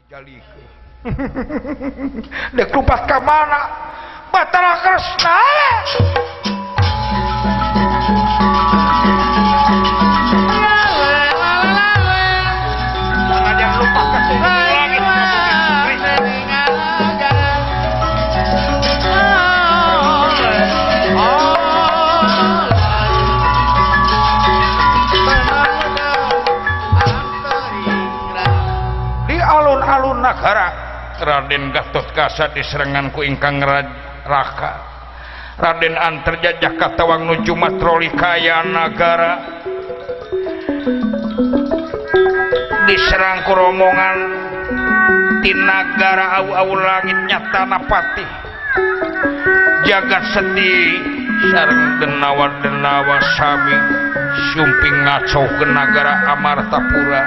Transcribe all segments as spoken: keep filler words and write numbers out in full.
jalikeun dek lupat ka mana Batara Kresna jangan lupa ke langit di alun-alun nagara Raden Gatotkaca diserangan ku ingkang Raka Raden Antarjajah katawang nuju matroli kaya nagara diserang ku rombongan di nagara au-au langit nyata napati jagat seti sareng denawa-denawa sami sumping ngacau ke nagara Amartapura.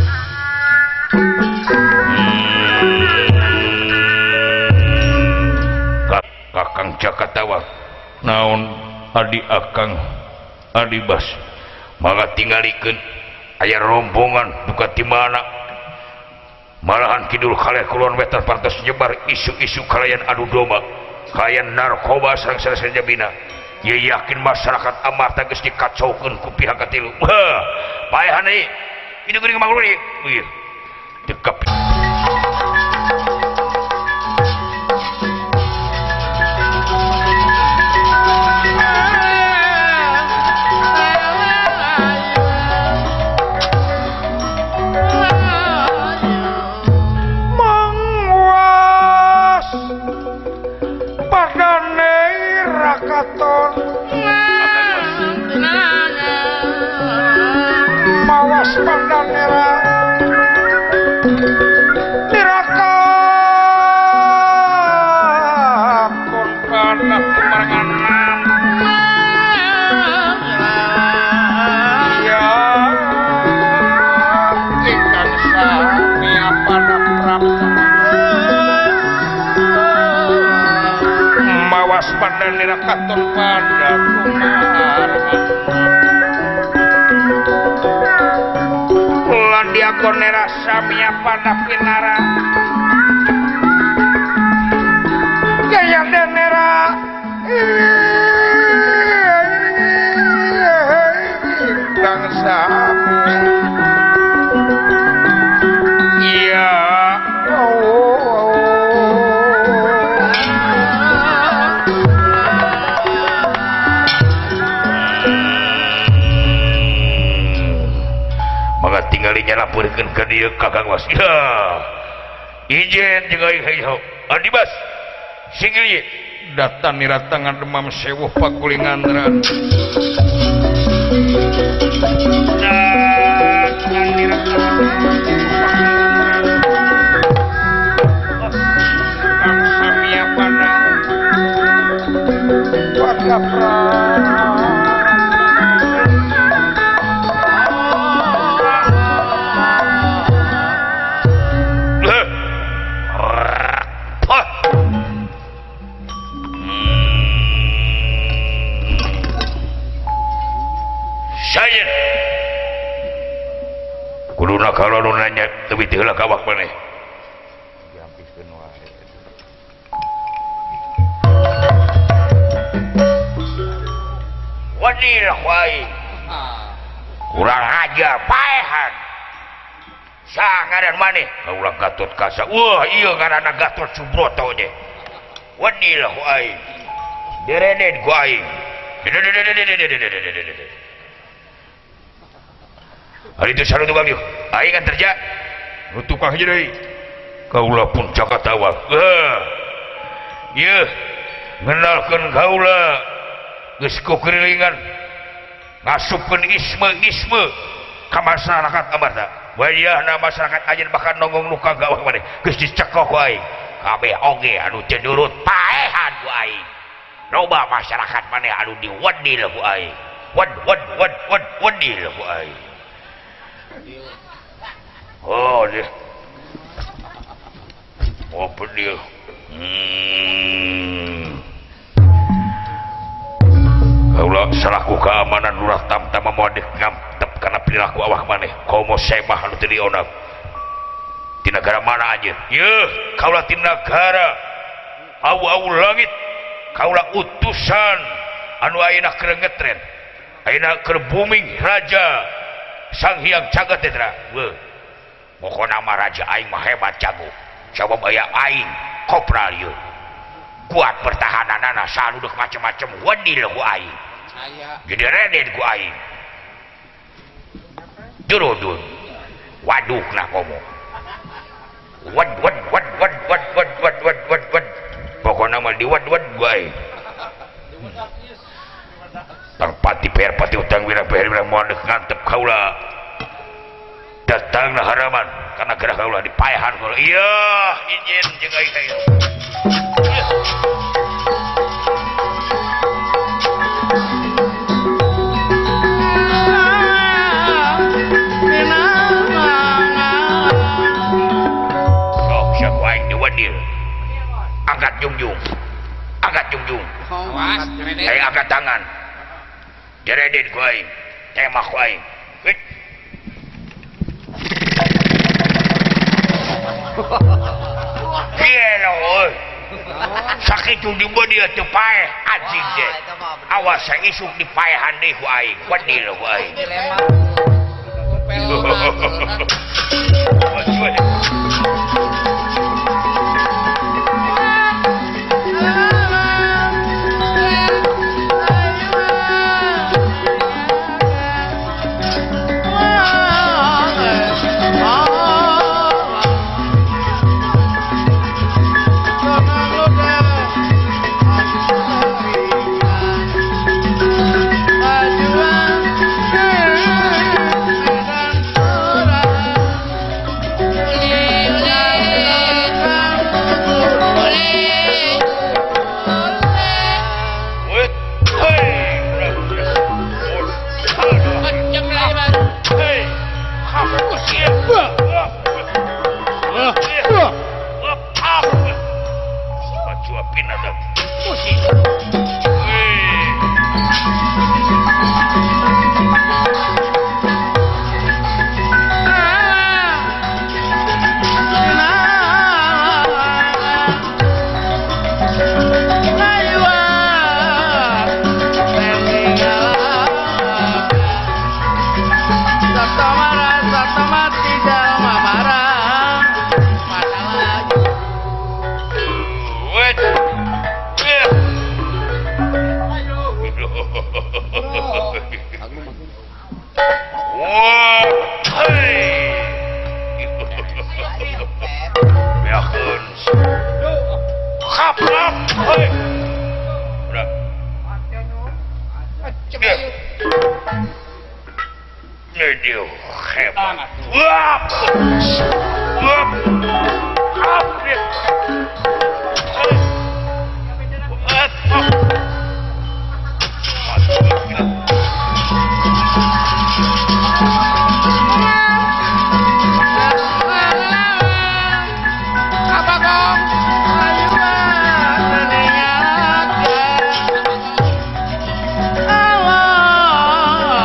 Kakang Jakatawa naon adi akang adi bas malah tinggalikeun aya rombongan duka ti mana malahan kidul kaleh kulon wetan pantos nyebar isu-isu kalayan adu domba kalayan narkoba sareng sareng jabina ye yakin masyarakat Amarta geus dikacaukeun ku pihak katilu heuh paehan deui itu geuning mangluri ieu dekep mawas pandang nera tirakakon kana kemarangan ya ingkang sami apada prapta mawas pandang nera katon pada kumarangan diakonera samia pada pinara gaya denera bangsa iya tinggalnya laporkan ke dia kakang was ya ijen jeung aing hayho adi bas singgil datang niratangan demam sewuh pakulingandran datang niratangan kang samia panang wadapra kuduna kalau nu nanya teuing teu heula kawak maneh dihampiskeun wae wadir wae kurang ajar paehan sangaran maneh kaulah Gatotkaca wah ieu ngaranna Gatot Subroto nya wadir wae dereden ku aing hari itu sareng tukang yuk aing kan terja nu tukang hiji deui kaula pun Jakatawa heuh ieu ngenalkeun kaula geus kukirilingan ngasupkeun isme-isme ka masyarakat Amarta wayahna masyarakat ayeuna bahkan nonggong nu kagawah maneh geus dicekoh ku aing kabeh oge anu teu nurut paehan ku aing loba masyarakat maneh anu diwadil ku aing wad wad wad wad wadil ku aing oh dia apa dia hmm kaulah selaku keamanan lurah tamtama moal ngantep karena perilaku awak maneh komo semah anu teu dionab di negara mana aja ya kaulah di negara awu-awu langit kaulah utusan anu ayeuna keur ngetren ayeuna keur booming raja Sang Hyang Jagat Tetra weuh pokona mah raja aing mah hebat jago sabab aya aing kopral ieu kuat pertahananana sanu deuk macem-macem wadil ku aing jadi reden ku aing durudun waduk nah komo wad wad wad wad wad wad wad wad wad wad pokoknya mah di wad wad gue tang pati per pati utang wira per wira mau ngantep kaula datang na haraman karena gerah kaula di payahan kaula iya izin jeung aing kayak angkat jungjung angkat jungjung aing angkat tangan jereden ku aing temah ku aing piye euy sakitu di bodi teu paeh anjing teh awas saya isuk di paehan deui ku aing wadil ku aing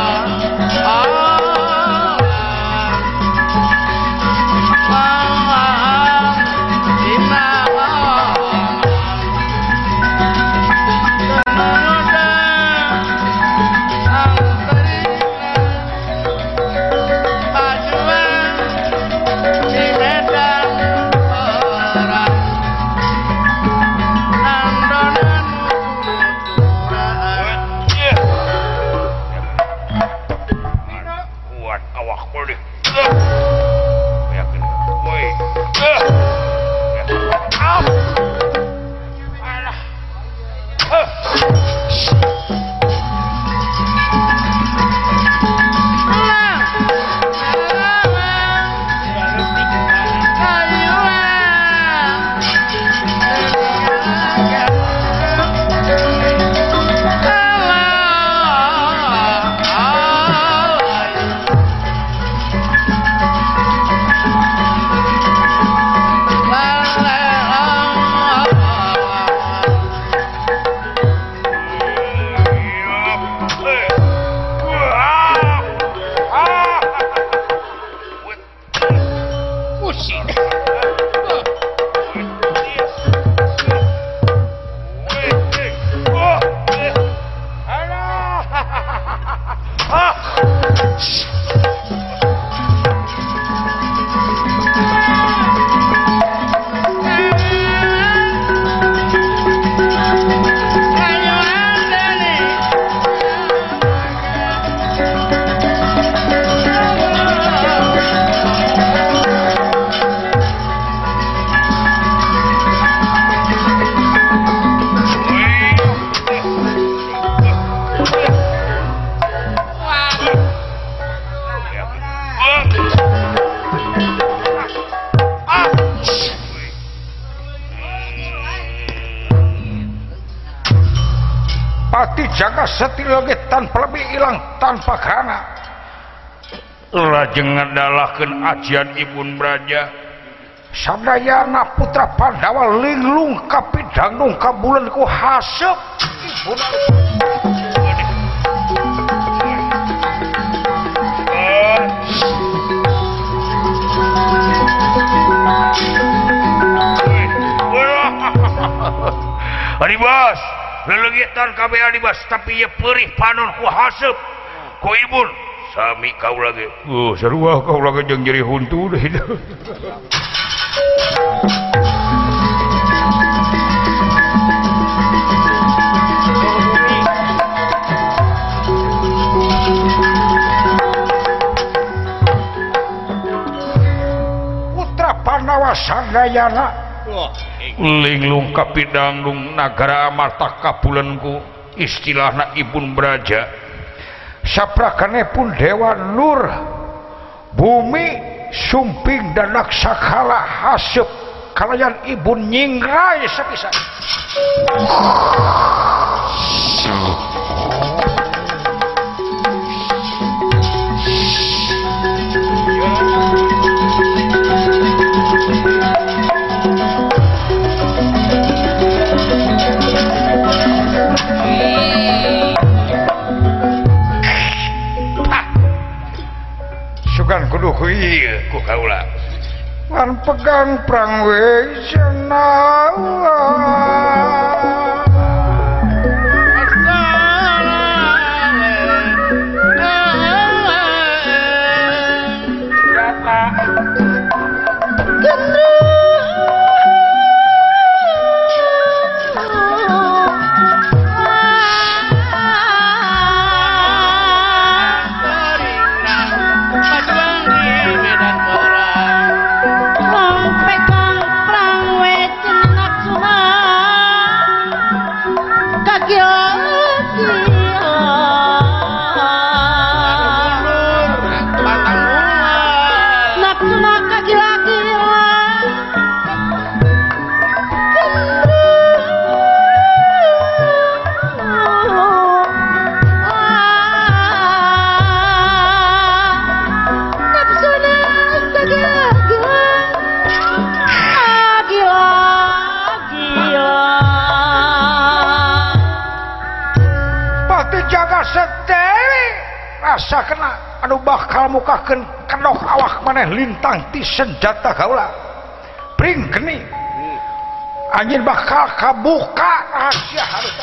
ah Pati Jaga Seti lagi tanpa lebih hilang tanpa kana lajeng ngandalakeun ajian Ibun Braja sadayana putra Pandawa linglung kapidangdung kabulan ku hasep Ibun Adibas lelegitan kabeh adibas tapi ye perih panon ku hasep ku Ibun sami kau lagi oh sarua kau lagi jeung jadi huntu deh itu putra Pandawa sadayana linglung kapidangdung nagara amarta kapulenku istilahna Ibun Braja saprakane pun Dewa Nur bumi sumping dan naksakala hasep kalayan Ibun nyingrai sapisan sugan kudu ku ieu ku kaula ngan pegang prang we senawa rasa kena anu bakal mukakeun kedok awak maneh lintang ti senjata kaula pring geni anjeun bakal kabuka rahasia harus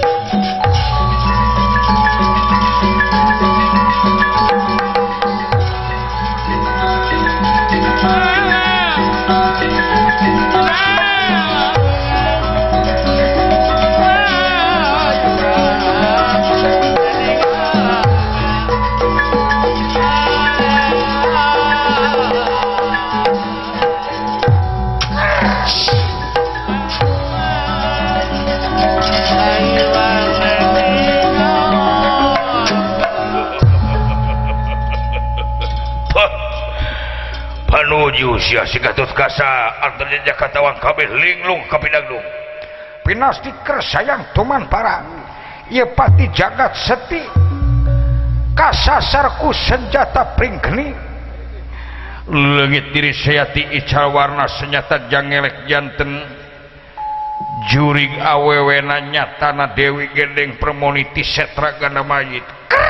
panuju sia si Gatut Kasa antaranya Jakatawang kabeh linglung kapidangdung pinasti kersayang tuman para ieu pati jagat seti kasasarku senjata pring geni leungit diri sayati ical warna senjata jangelek janten juring awewena nyatana Dewi Gendeng Permoniti Setra Ganda Mayit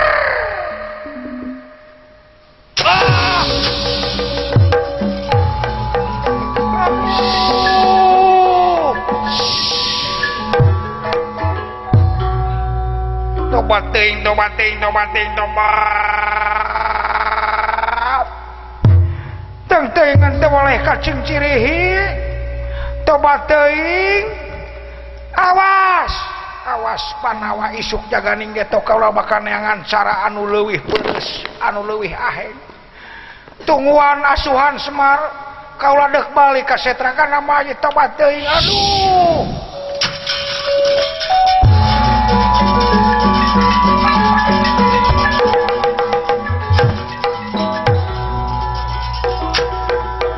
tobat teuing tobat teuing tobat teuing tobat teng teuingan teu boleh kacing cirihi tobat teuing awas awas Panawa isuk jaganing geto kaula bakal neangan cara anu leuwih peureus anu leuwih aheng tungguan asuhan Semar kaula deuk balik ka Setra Ganda Mayit tobat teuing aduh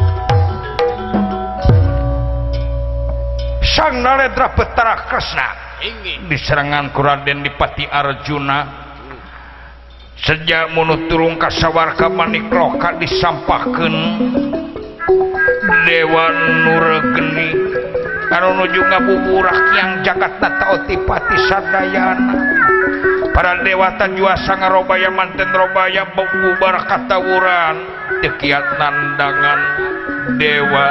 Sang Narendra Betara Kresna di serangan ku Raden Dipati Arjuna sejak munut turung ka sawarga Manikloka disampahkeun Dewa Nurgeni anu nuju ngabuburak yang jagat tata otipati sadayana para dewata juasa ngarobaya manten robaya bubar katawuran tekiat nandangan Dewa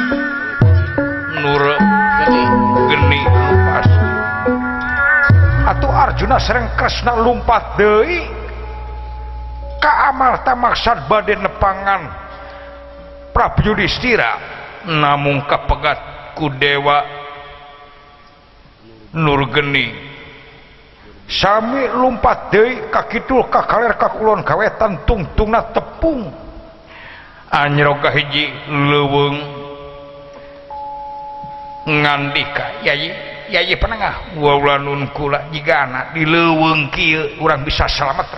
Nurgeni pas atuh Arjuna sereng Kresna lumpat deui ka amarta maksad bade nepangan Prabu Yudhistira namung kapegat ku Dewa Nurgeni sami lumpat deui ka kidul ka kaler ka kulon kawetan tungtungna tepung anyro ka hiji leuweung ngandika Yayi Yayi Panengah waulanun kula jigana di leuweung kieu urang bisa selamat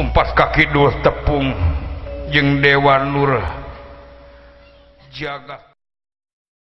kaki dua tepung jeung Dewa Nur jagat